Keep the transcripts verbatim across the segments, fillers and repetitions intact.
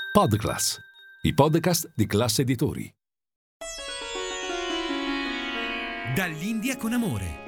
Podclass, i podcast di Class Editori. Dall'India con amore.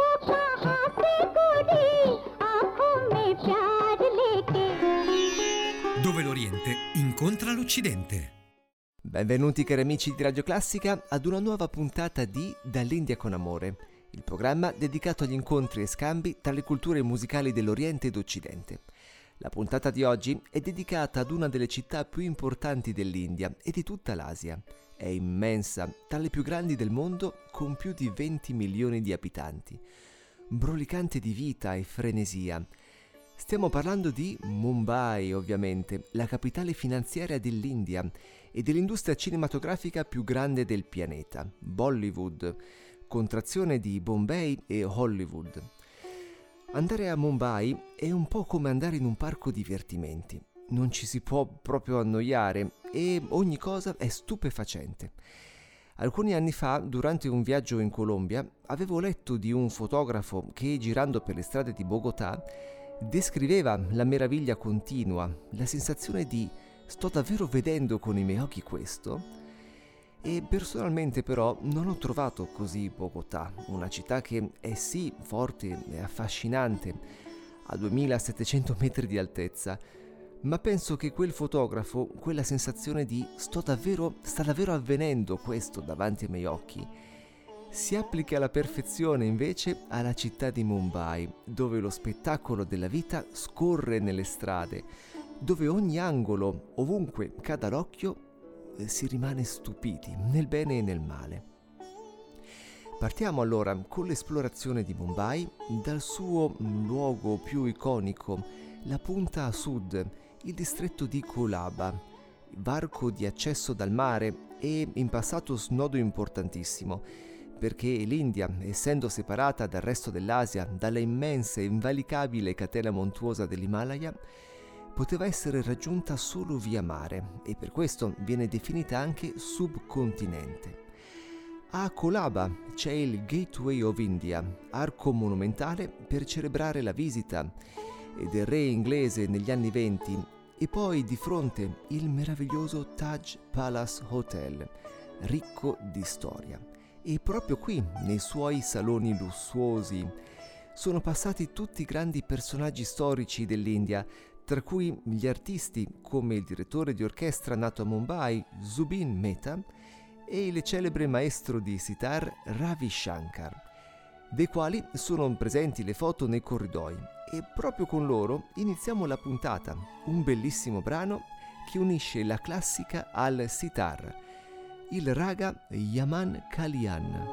Dove l'Oriente incontra l'Occidente. Benvenuti cari amici di Radio Classica ad una nuova puntata di Dall'India con amore, il programma dedicato agli incontri e scambi tra le culture musicali dell'Oriente ed Occidente. La puntata di oggi è dedicata ad una delle città più importanti dell'India e di tutta l'Asia. È immensa, tra le più grandi del mondo, con più di venti milioni di abitanti. Brulicante di vita e frenesia. Stiamo parlando di Mumbai, ovviamente, la capitale finanziaria dell'India e dell'industria cinematografica più grande del pianeta, Bollywood, contrazione di Bombay e Hollywood. Andare a Mumbai è un po' come andare in un parco divertimenti. Non ci si può proprio annoiare e ogni cosa è stupefacente. Alcuni anni fa, durante un viaggio in Colombia, avevo letto di un fotografo che, girando per le strade di Bogotà, descriveva la meraviglia continua, la sensazione di «sto davvero vedendo con i miei occhi questo?» E personalmente però non ho trovato così Bogotà, una città che è sì forte e affascinante, a duemilasettecento metri di altezza, ma penso che quel fotografo, quella sensazione di sto davvero, sta davvero avvenendo questo davanti ai miei occhi, si applica alla perfezione invece alla città di Mumbai, dove lo spettacolo della vita scorre nelle strade, dove ogni angolo, ovunque cada l'occhio, si rimane stupiti, nel bene e nel male. Partiamo allora con l'esplorazione di Mumbai, dal suo luogo più iconico, la punta a sud, il distretto di Colaba, varco di accesso dal mare e in passato snodo importantissimo, perché l'India, essendo separata dal resto dell'Asia dalla immensa e invalicabile catena montuosa dell'Himalaya, poteva essere raggiunta solo via mare e per questo viene definita anche subcontinente. A Colaba c'è il Gateway of India, arco monumentale per celebrare la visita del re inglese negli anni venti, e poi di fronte il meraviglioso Taj Palace Hotel, ricco di storia. E proprio qui, nei suoi saloni lussuosi, sono passati tutti i grandi personaggi storici dell'India, tra cui gli artisti come il direttore di orchestra nato a Mumbai, Zubin Mehta, e il celebre maestro di sitar Ravi Shankar, dei quali sono presenti le foto nei corridoi. E proprio con loro iniziamo la puntata, un bellissimo brano che unisce la classica al sitar, il raga Yaman Kalyan.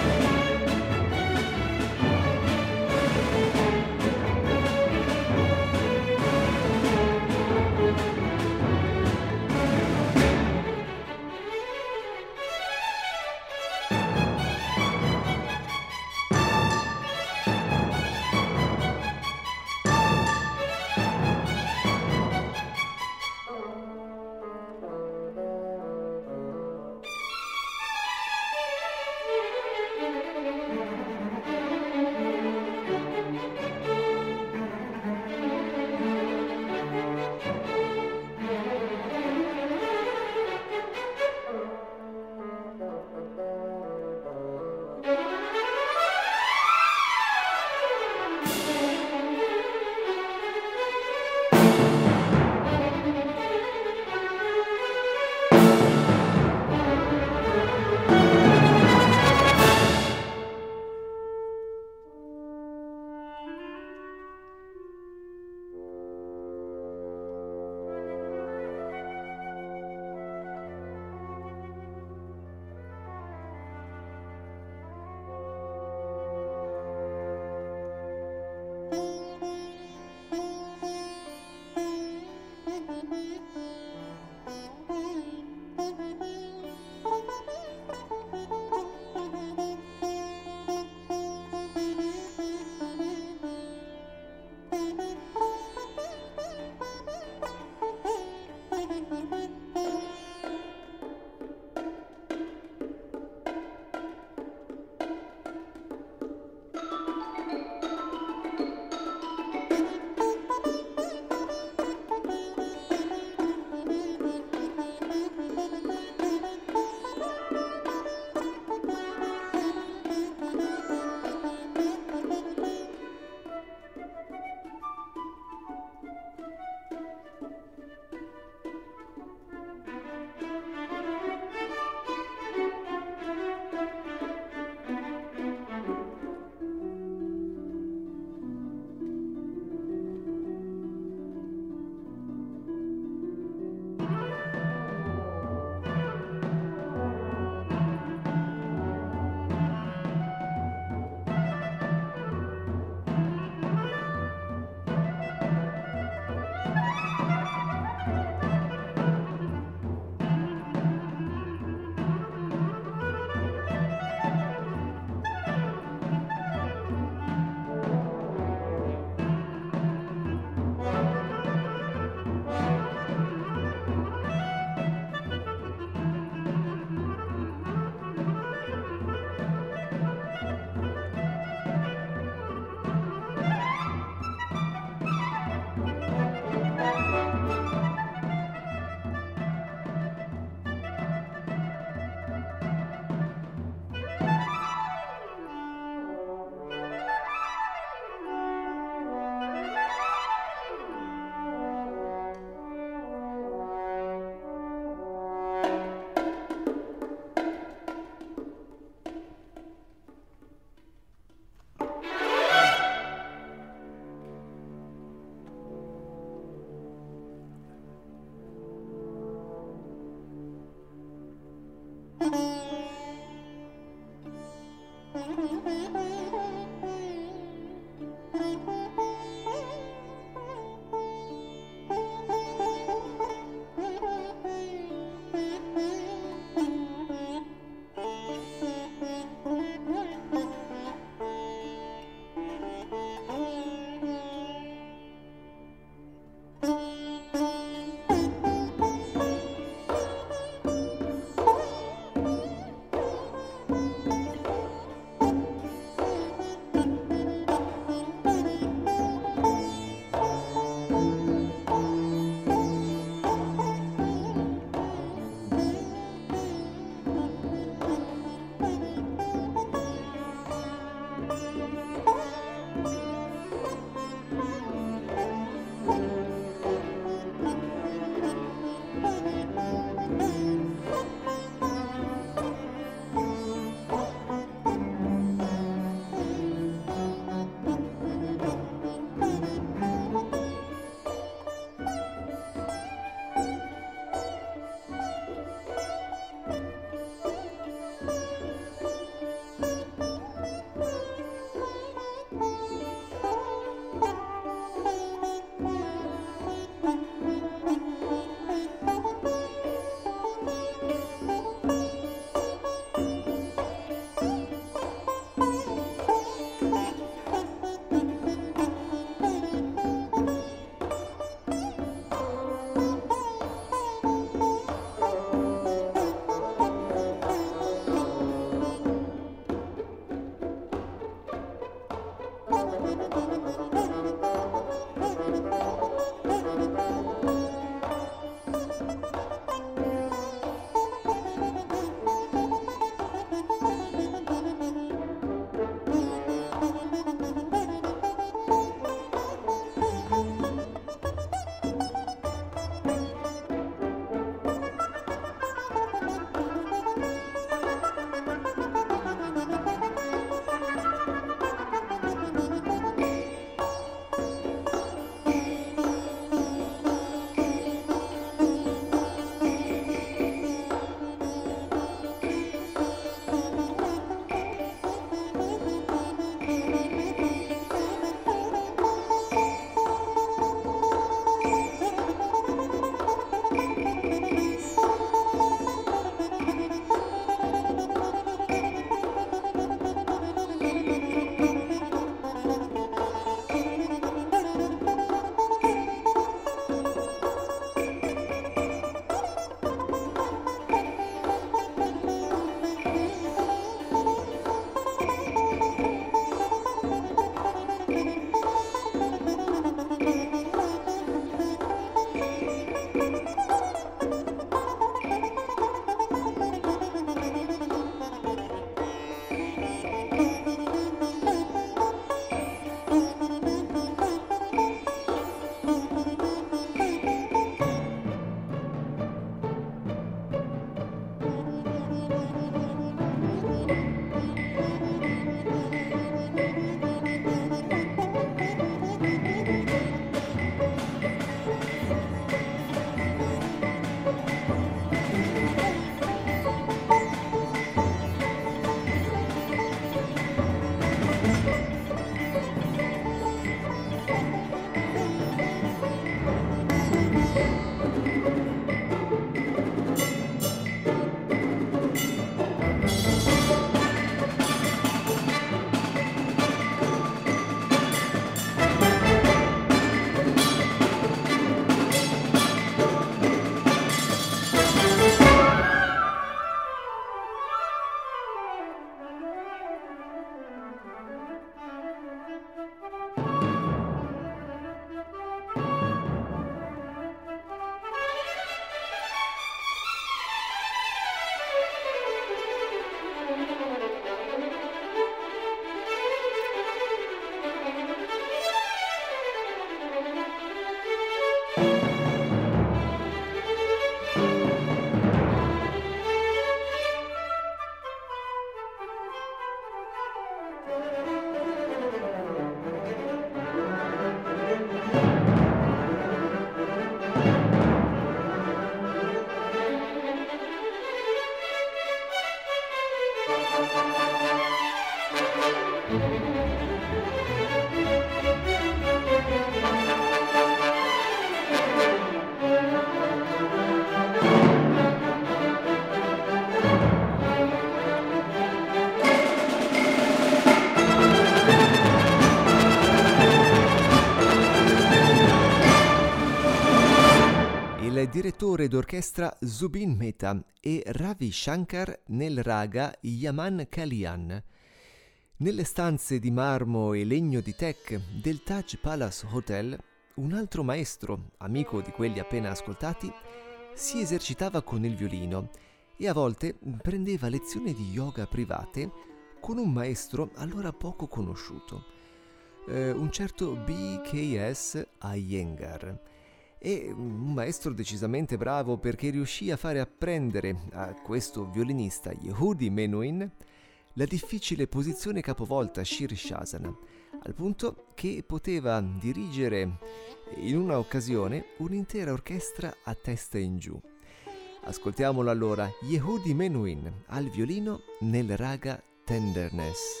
direttore d'orchestra Zubin Mehta e Ravi Shankar nel raga Yaman Kalyan. Nelle stanze di marmo e legno di teak del Taj Palace Hotel, un altro maestro, amico di quelli appena ascoltati, si esercitava con il violino e a volte prendeva lezioni di yoga private con un maestro allora poco conosciuto, eh, un certo B K S Iyengar. E un maestro decisamente bravo perché riuscì a fare apprendere a questo violinista Yehudi Menuhin la difficile posizione capovolta Shirshasana, al punto che poteva dirigere in una occasione un'intera orchestra a testa in giù. Ascoltiamolo allora, Yehudi Menuhin al violino nel raga Tenderness.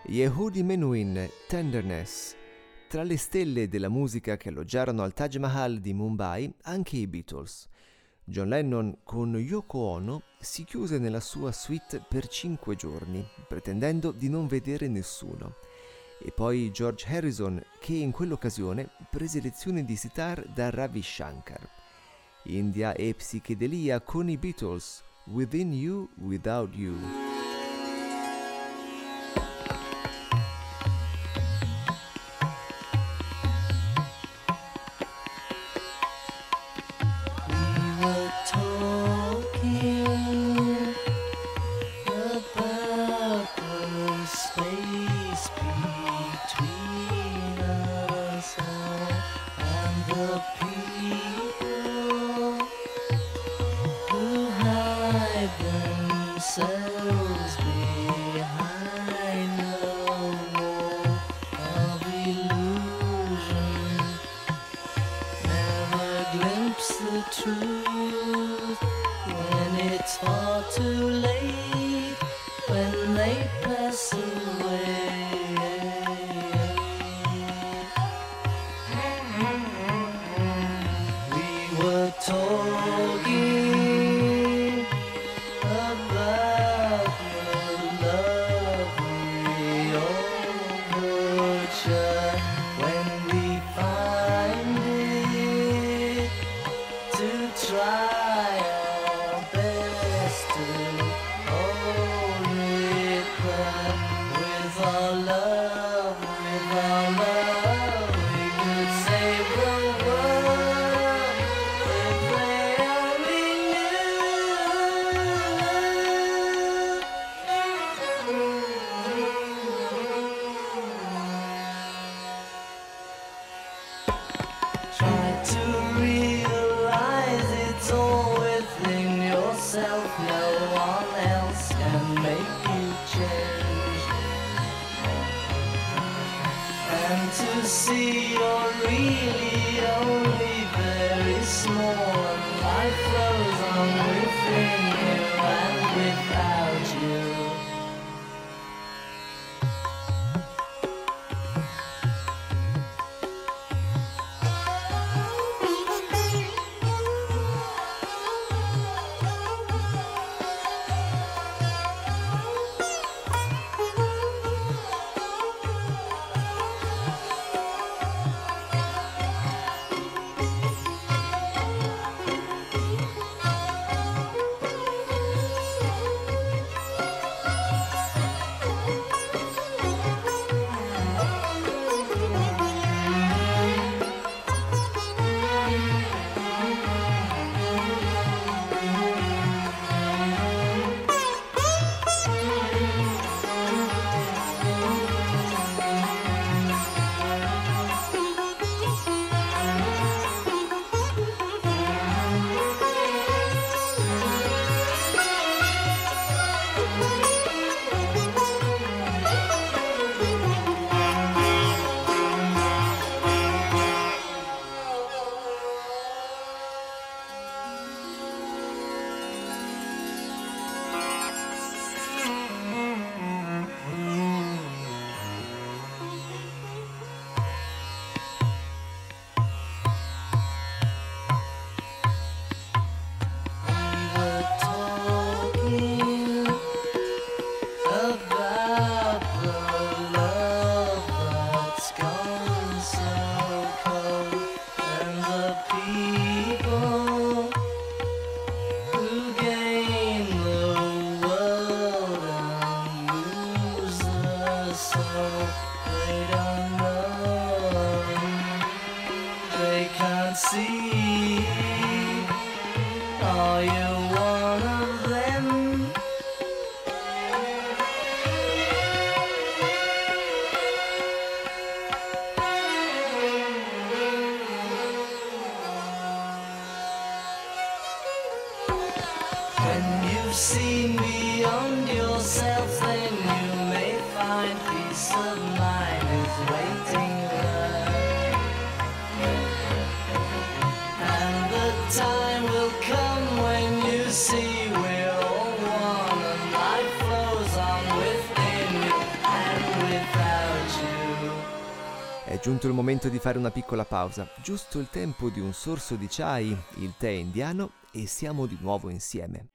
Yehudi Menuhin, Tenderness. Tra le stelle della musica che alloggiarono al Taj Mahal di Mumbai anche i Beatles. John Lennon con Yoko Ono si chiuse nella sua suite per cinque giorni, pretendendo di non vedere nessuno. E poi George Harrison, che in quell'occasione prese lezioni di sitar da Ravi Shankar. India e psichedelia con i Beatles, Within You, Without You. giunto il momento di fare una piccola pausa, giusto il tempo di un sorso di chai, il tè indiano, e siamo di nuovo insieme.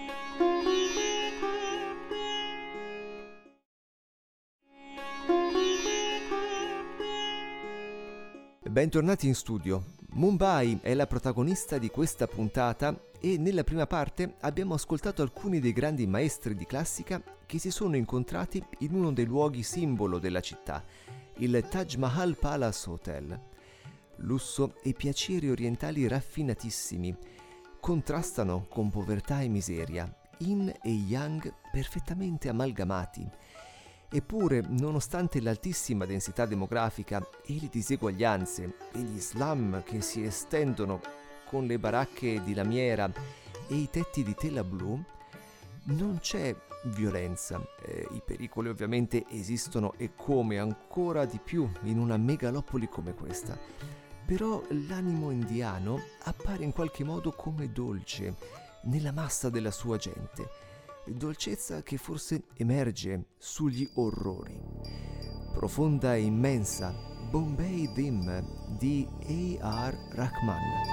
Bentornati in studio. Mumbai è la protagonista di questa puntata e nella prima parte abbiamo ascoltato alcuni dei grandi maestri di classica che si sono incontrati in uno dei luoghi simbolo della città, il Taj Mahal Palace Hotel. Lusso e piaceri orientali raffinatissimi contrastano con povertà e miseria, yin e yang perfettamente amalgamati. Eppure, nonostante l'altissima densità demografica e le diseguaglianze e gli slum che si estendono con le baracche di lamiera e i tetti di tela blu, non c'è violenza. Eh, I pericoli ovviamente esistono e come ancora di più in una megalopoli come questa. Però l'animo indiano appare in qualche modo come dolce nella massa della sua gente. Dolcezza che forse emerge sugli orrori. Profonda e immensa, Bombay Dim di A R Rahman.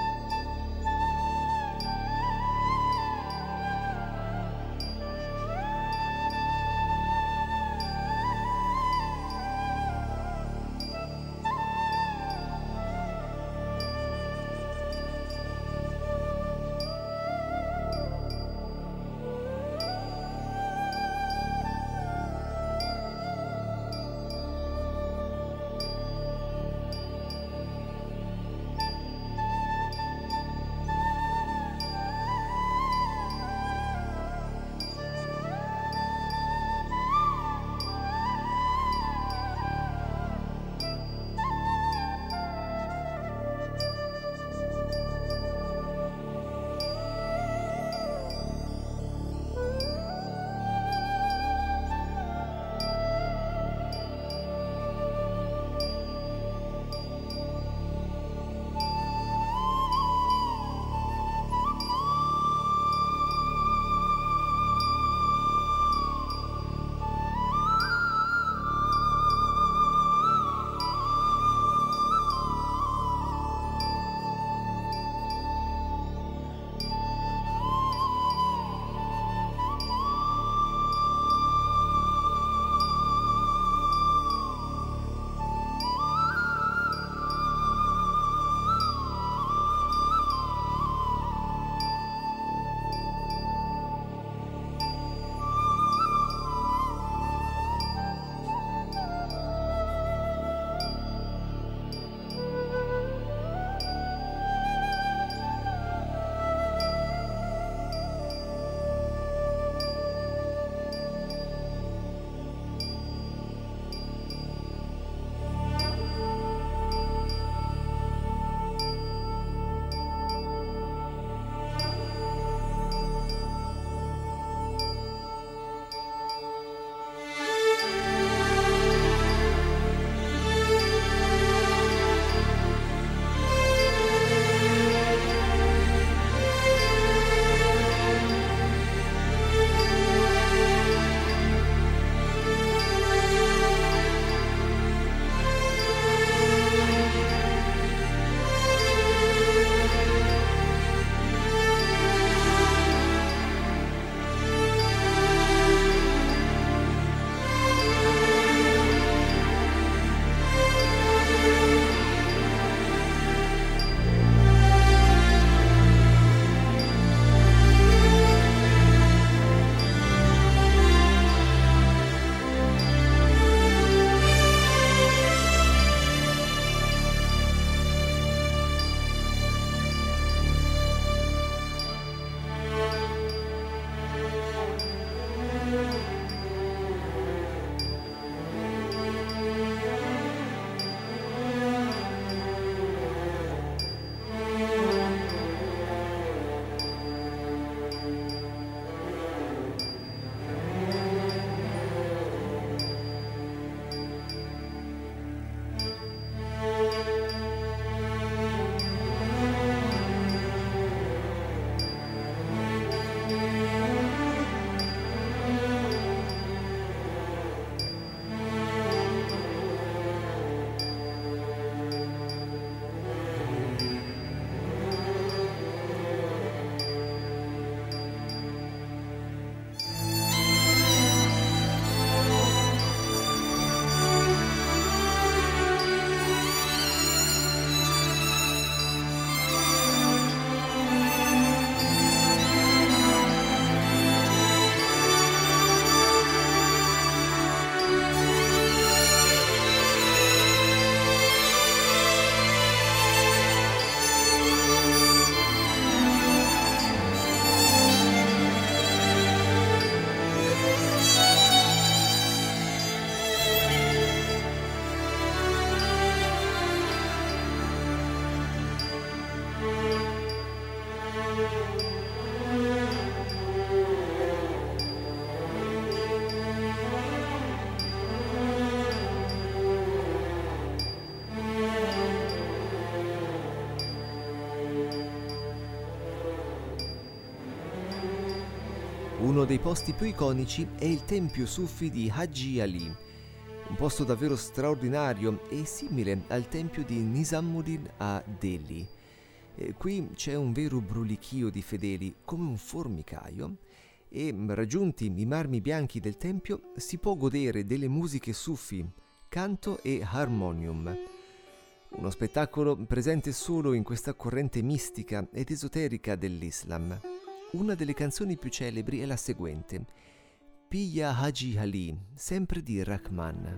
uno dei posti più iconici è il tempio sufi di Haji Ali, un posto davvero straordinario e simile al tempio di Nizamuddin a Delhi. E qui c'è un vero brulichio di fedeli, come un formicaio, e raggiunti i marmi bianchi del tempio si può godere delle musiche sufi, canto e harmonium. Uno spettacolo presente solo in questa corrente mistica ed esoterica dell'Islam. Una delle canzoni più celebri è la seguente, Piya Haji Ali, sempre di Rahman.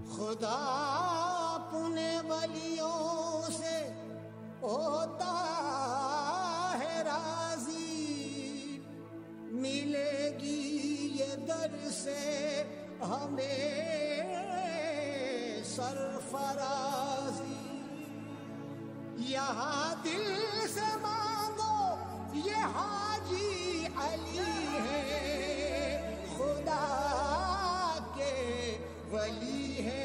यहाँ दिल से मांगो ये हाजी अली है खुदा के वली है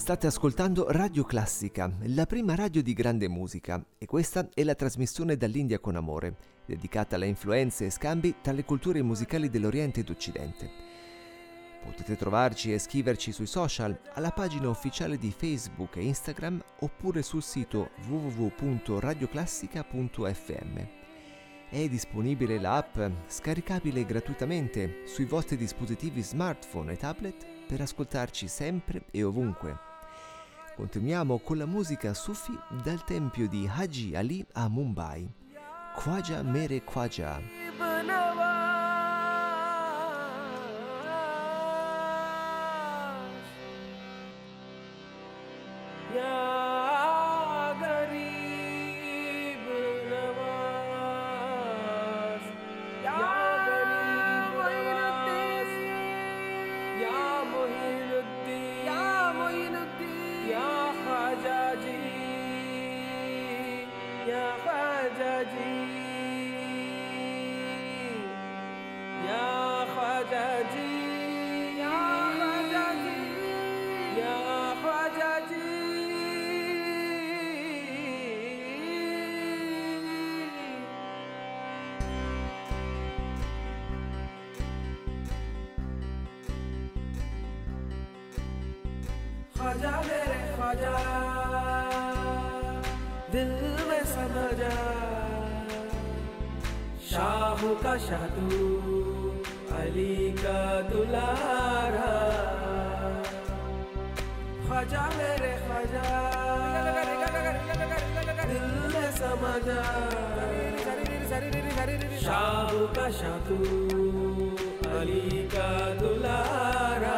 State ascoltando Radio Classica, la prima radio di grande musica, e questa è la trasmissione Dall'India con amore, dedicata alle influenze e scambi tra le culture musicali dell'Oriente ed Occidente. Potete trovarci e scriverci sui social, alla pagina ufficiale di Facebook e Instagram, oppure sul sito w w w punto radioclassica punto f m. È disponibile l'app, scaricabile gratuitamente sui vostri dispositivi smartphone e tablet per ascoltarci sempre e ovunque. Continuiamo con la musica Sufi dal tempio di Haji Ali a Mumbai. Khwaja Mere Khwaja. Khwaja मेरे ख्वाजा दिल में समा जा शाह का शाह तू अली का दुलारा ख्वाजा मेरे ख्वाजा दिल में समा जा शाह का शाह तू अली का दुलारा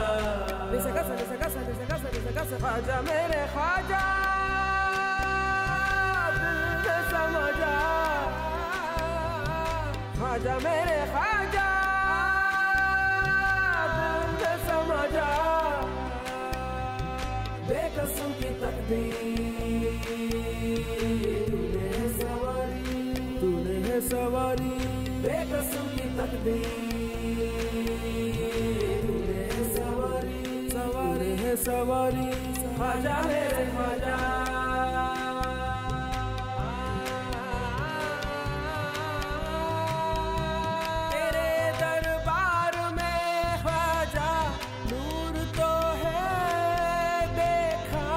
ख्वाजा मेरे ख्वाजा दिल में समा जा ख्वाजा मेरे ख्वाजा दिल में समा जा बेकसों की तकदीर तूने है सवारी तूने है सवारी बेकसों की तकदीर तूने है सवारी सवारी है सवारी ख्वाजा मेरे ख्वाजा तेरे दरबार में ख्वाजा नूर तो है देखा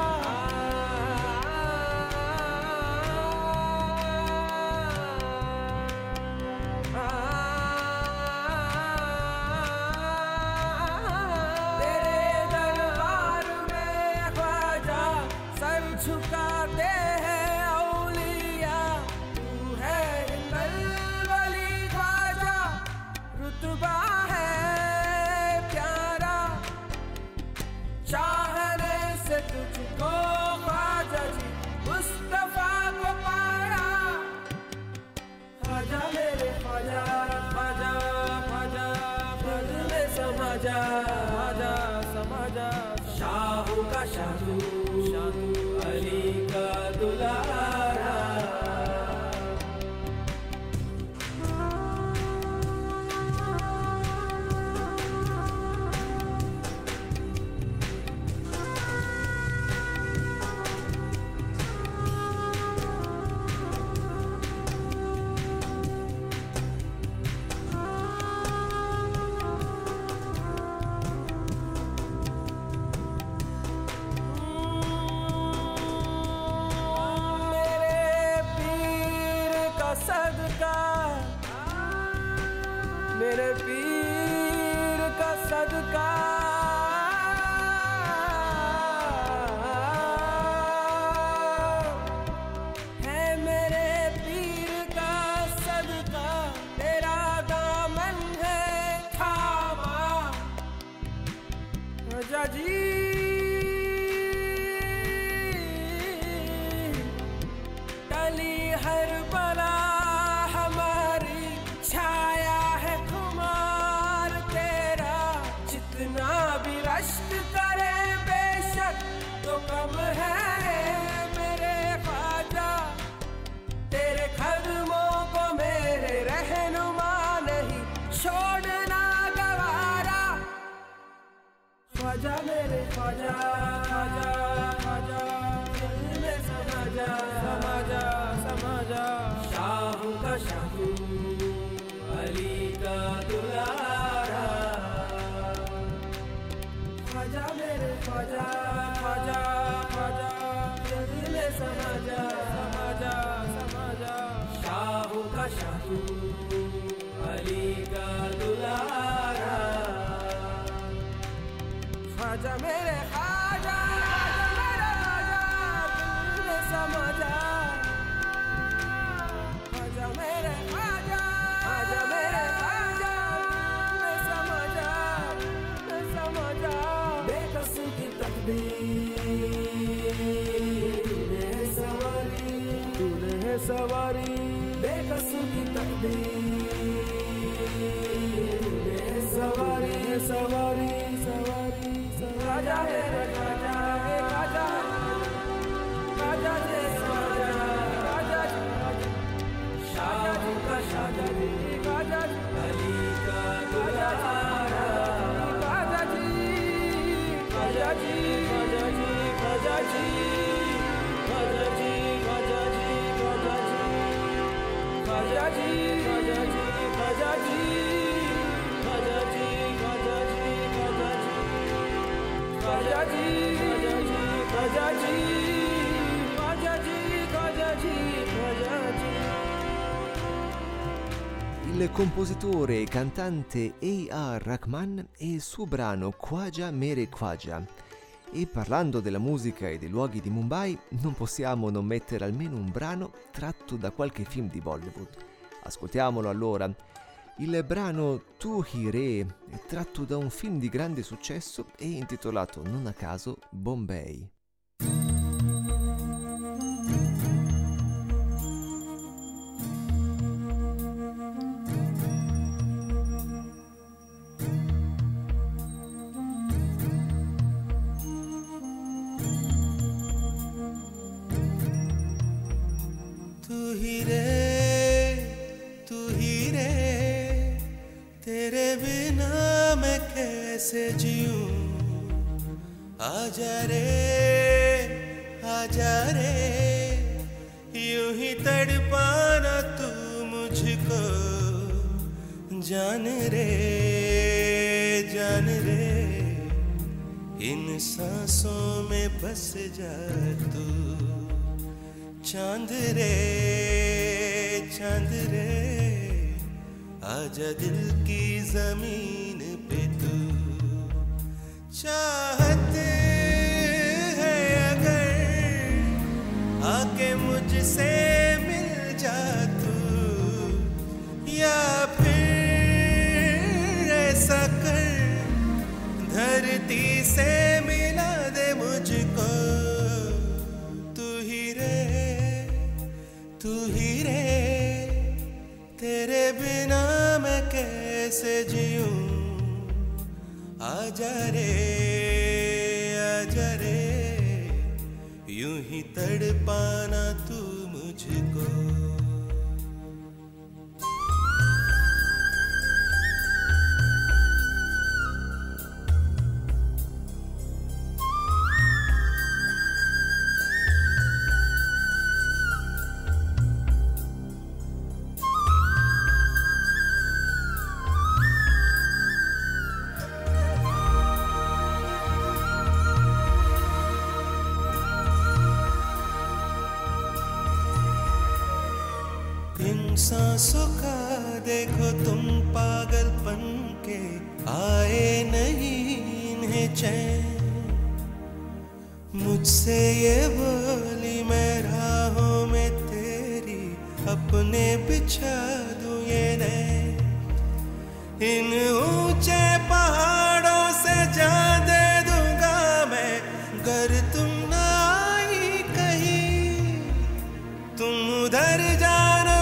झुकाते हैं औलिया तू है वली ख्वाजा रुतबा है प्यारा चाहने से तुझको ख्वाजा जी मुस्तफा को पाया ख्वाजा मेरे ख्वाजा ख्वाजा ख्वाजा दिल में समा जा ख्वाजा समा जा शाह का शाह अली का दुलारा मेरे पीर का सदका है मेरे पीर का सदका तेरा दामन है थामा ख्वाजा जी टली हर बला रश्क करे बेशक तो कम है मेरे ख्वाजा तेरे कदमों को मेरे रहनुमा नहीं छोड़ना गवारा ख्वाजा मेरे ख्वाजा ख्वाजा आजा मेरे ख्वाजा, आजा मेरे आजा, दिल में समा जा। आजा मेरे ख्वाजा, आजा मेरे ख्वाजा, दिल में समा जा, में समा जा। बेकसूर की तकदीर तूने है सवारी, तूने है सवारी। बेकसूर की तकदीर तूने है सवारी, है सवारी, सवारी, सवारी। राजा है राजा है राजा, राजा है राजा, राजा शाह जी का शाह जी, राजा अली का दुल्हारा, राजा जी, राजा जी, राजा जी, राजा जी, राजा जी, राजा जी, राजा जी, राजा जी, राजा जी, राजा जी, राजा जी, राजा जी, राजा जी, राजा जी, राजा जी, राजा जी, राजा जी, राजा जी। Il compositore e cantante A R Rahman e il suo brano Khwaja Mere Khwaja. E parlando della musica e dei luoghi di Mumbai, non possiamo non mettere almeno un brano tratto da qualche film di Bollywood. Ascoltiamolo allora. Il brano Tu Hi Re è tratto da un film di grande successo e intitolato non a caso Bombay. तू ही रे, तू ही रे, तेरे बिना मैं कैसे जीऊं। आजा रे, आजा रे, यूं ही तड़पाना तू मुझको। जान रे, जान रे, इन सांसों में बस जा तू। चांद रे, चांद रे, आजा दिल की जमीन पे तू। चाहत है अगर आके मुझसे मिल जा तू, या फिर ऐसा कर धरती से मिला दे मुझको। तू ही रे, तू ही रे, तेरे बिना मैं कैसे जीऊं। आजा रे, आजा रे, यूं ही तड़पाना तू मुझको। सांसों का देखो तुम पागलपन के आए नहीं इन्हें चैन। मुझसे ये बोली मैं राहों में तेरी अपने बिछा दूं ये नैन। इन ऊंचे पहाड़ों से जा दे दूंगा मैं, गर तुम ना आई कहीं। तुम उधर जाना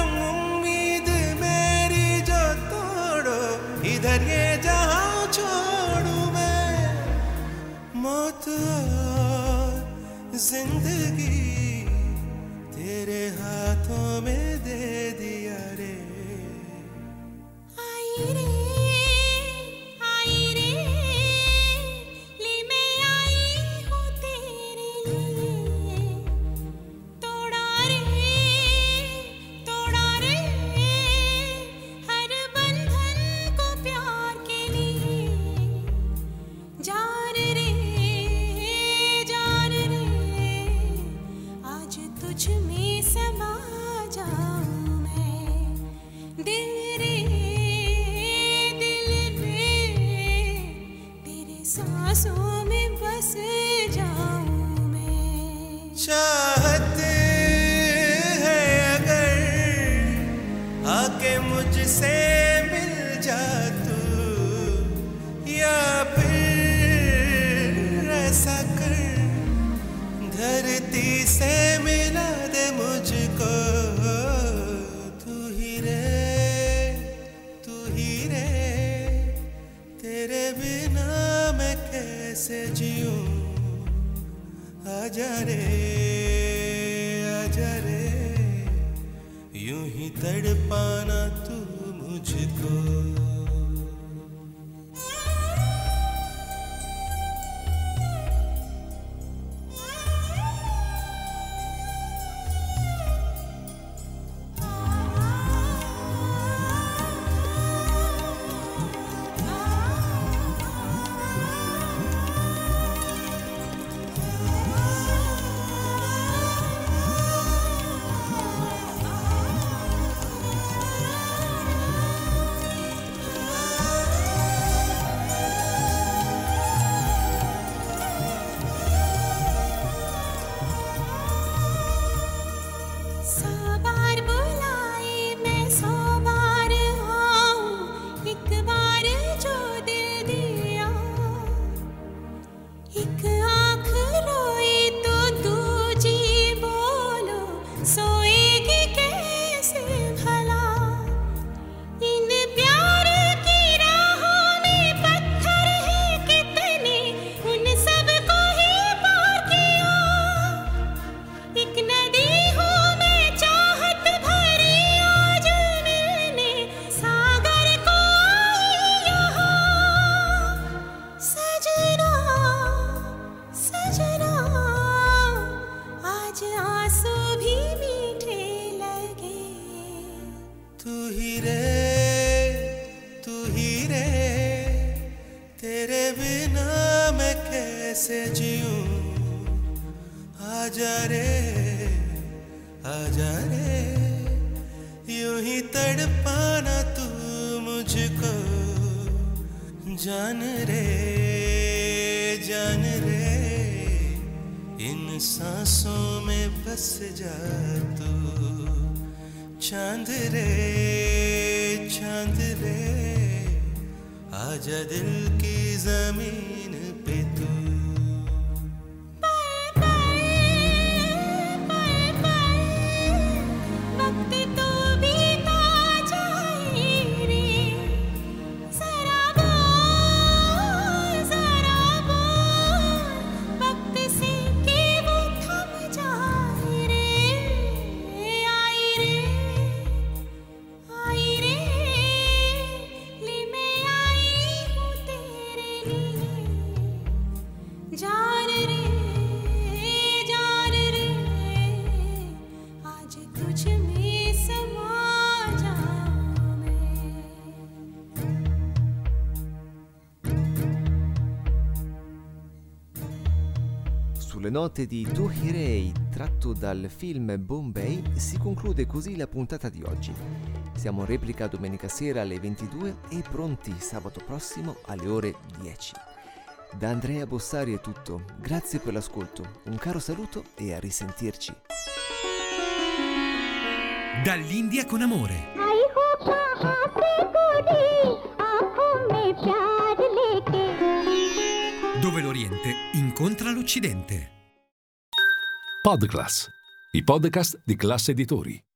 इधर ये जहां छोड़ूं मैं। मौत और जिंदगी तेरे हाथों में दे दिया रे। आई रे, आई रे, ले मैं आई हूँ तेरे लिए। तोड़ा रे, तोड़ा रे, हर बंधन को प्यार के लिए। जान रे, जान रे, आज तुझ में समा जाऊं मैं। कैसे जीऊं आजा रे आजा रे यूं ही तड़पाना तू मुझको कैसे जीऊं आजा रे आजा रे यूं ही तड़पाना तू मुझको जान रे जान रे इन सांसों में बस जा तू चांद रे चांद रे आजा दिल की जमीन पे तू जान रे जान रे आज तुझ में समा जाऊं मैं। Sulle note di Tu Hirei, tratto dal film Bombay, si conclude così la puntata di oggi. Siamo in replica domenica sera alle ventidue e pronti sabato prossimo alle ore dieci. Da Andrea Bossari è tutto, grazie per l'ascolto, un caro saluto e a risentirci. Dall'India con amore. आई हो कहाँ से गोरी आँखों में प्यार लेके Dove l'Oriente incontra l'Occidente. Podclass, i podcast di Classe Editori.